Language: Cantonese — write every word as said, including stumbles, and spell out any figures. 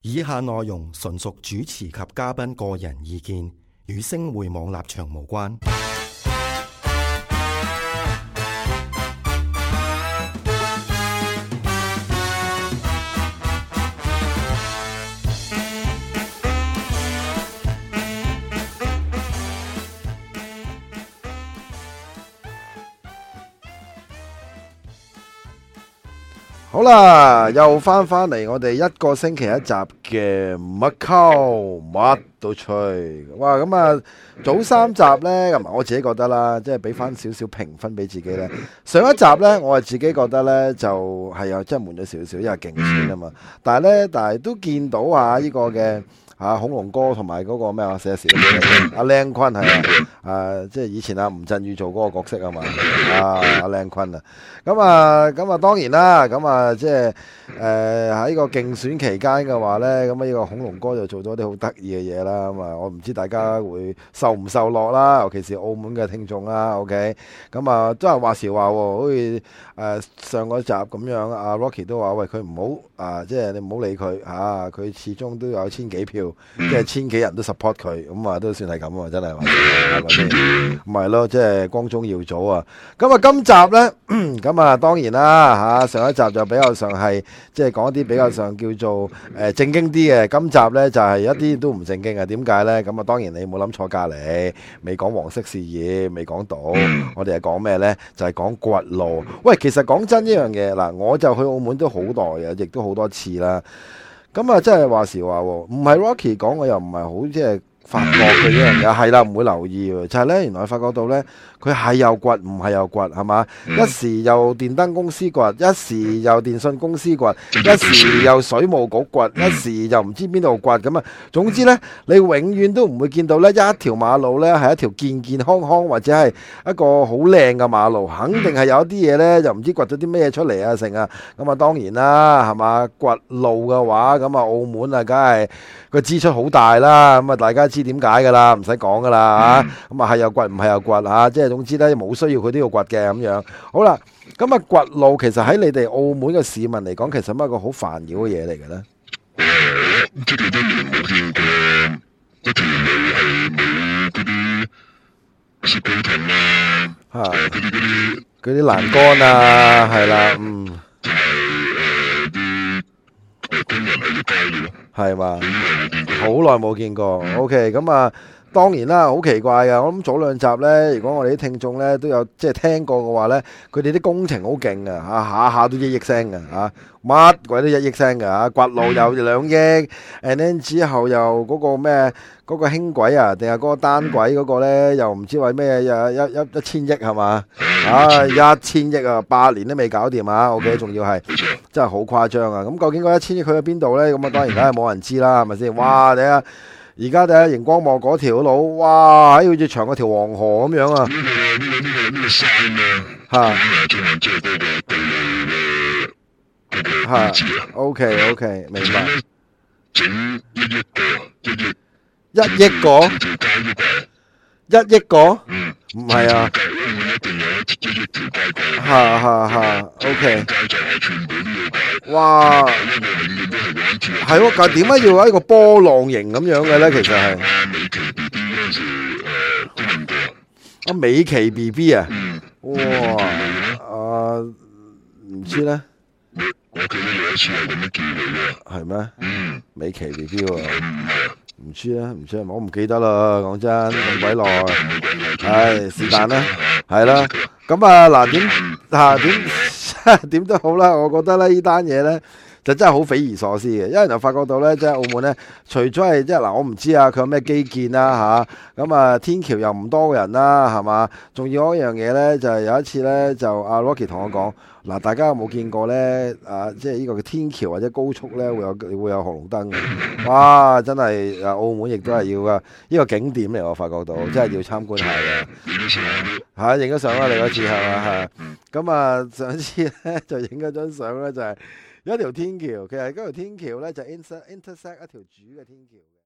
以下內容純屬主持及嘉賓個人意見，與星匯網立場無關。 好啦，又翻返嚟我哋一個星期一集嘅乜溝乜都吹。哇，咁啊早三集呢，咁我自己覺得啦，即係俾翻少少評分俾自己呢。上一集呢，我係自己覺得呢，就係啊，真係悶咗少少，因為競選啊嘛。但係呢，但係都見到啊呢個嘅。啊，恐龍哥同埋嗰個咩話寫時阿靚坤係啊，啊即係以前阿吳鎮宇做嗰個角色啊嘛，啊阿靚坤啊，咁啊咁啊當然啦，咁啊即係誒喺呢個競選期間嘅話咧，咁啊呢個恐龍哥就做咗啲好得意嘅嘢啦，咁啊我唔知大家會受唔受落啦，尤其是澳門嘅聽眾啦 ，OK， 咁啊都係話時話喎，好似誒上個集咁樣，阿 Rocky 都話喂佢唔好啊，即係你唔好理佢嚇，佢始終都有千幾票。即係千幾人都 support 佢，咁啊都算係咁啊，真係話唔係咯，即係光宗耀祖啊！咁啊，今集呢，咁啊當然啦嚇，上一集就比較上係即係講一啲比較上叫做誒正經啲嘅，今集呢就係一啲都唔正經啊！點解呢？咁啊當然你冇諗錯隔離，未講黃色事業，未講到，我哋係講咩呢？就係講掘路。喂，其實講真呢樣嘢嗱，我就去澳門都好耐嘅，亦都好多次啦。咁啊，真係話時話喎，唔係 Rocky 講，我又唔係好即係發覺佢呢樣嘢，係啦，唔會留意喎。就係咧，原來發覺到咧，佢係又掘，唔係又掘，係嘛？一時又電燈公司掘，一時又電信公司掘，一時又水務局掘，一時又唔知邊度掘咁啊。總之咧，你永遠都唔會見到咧一條馬路咧係一條健健康康或者係一個好靚嘅馬路，肯定係有一啲嘢咧，又唔知掘咗啲咩出嚟啊成啊。咁啊，當然啦，係嘛？掘路嘅話，咁啊，澳門啊，梗係個支出好大啦。咁啊，大家知點解㗎啦？唔使講㗎啦嚇。咁啊，係又掘，唔係又掘嚇。即係總之咧，冇需要佢都要掘嘅咁樣。好啦，咁啊，掘路其實喺你哋澳門嘅市民嚟講，其實係一個好煩擾嘅嘢嚟嘅咧。 誒，即係一年冇見過一條路係冇嗰啲雪糕筒啦，誒嗰啲嗰啲嗰啲欄杆啊，係啦，嗯， 同埋誒啲誒工人喺度街嘅咯， 係嘛？ 好耐冇見過。 好耐冇見過。OK，咁啊。當然啦，好奇怪㗎！我諗早兩集呢，如果我哋啲聽眾呢都有即係聽過嘅話呢，佢哋啲工程好勁啊！嚇下下都一億聲嘅嚇，乜鬼都一億聲嘅嚇，掘路又兩億 and then 之後又嗰個咩嗰個輕軌啊，定係嗰個單軌嗰個呢，又唔知為咩又一一一千億係嘛？啊一千億啊，八年都未搞掂啊！OK，仲要係真係好誇張啊！咁究竟嗰一千億去咗邊度呢？咁啊當然梗係冇人知啦，係咪先？哇！你啊〜而家睇下熒光幕嗰條路，哇！喺好似長過條黃河咁樣啊！ 呢個呢個呢個呢個山啊， 嚇嚇，即係嗰個道路嘅嗰個標誌啊。 OK OK，明白。 整一億個，一億一億個，一億個， 嗯， 唔係啊。 一定有一億條街過。 嚇嚇嚇 ，OK。 街就係全部都要解。 哇！ 因為永遠都係玩住。 係喎，但係點解要一個波浪形咁樣嘅咧？其實係。 啊，美琪 B B 嗰陣時誒都問過。 啊，美琪 B B 啊！ 嗯。 哇！啊，唔知咧。 我記得有一次係咁樣叫佢嘅。 係咩？ 嗯。 美琪 B B 喎。 係唔係啊？ 唔知啊，唔知啊，我唔記得啦。講真，咁鬼耐。係是但啦，係啦。咁啊嗱，點嚇點點都好啦。我覺得咧，呢單嘢咧就真係好匪夷所思嘅，因為就發覺到咧，即係澳門咧，除咗係即係嗱，我唔知啊，佢有咩基建啦嚇。咁啊，天橋又唔多人啦，係嘛？仲要一樣嘢咧，就係有一次咧，就阿 Rocky 同我講。嗱，大家有冇見過咧？啊，即係呢個嘅天橋或者高速咧，會有會有紅綠燈嘅。哇！真係啊，澳門亦都係要噶，呢個景點嚟，我發覺到，真係要參觀下嘅。嚇，影咗相啦，你嗰次係嘛嚇？咁啊，上次咧就影咗張相咧，就係有一條天橋，其實嗰條天橋咧就 inter intersect 一條主嘅天橋。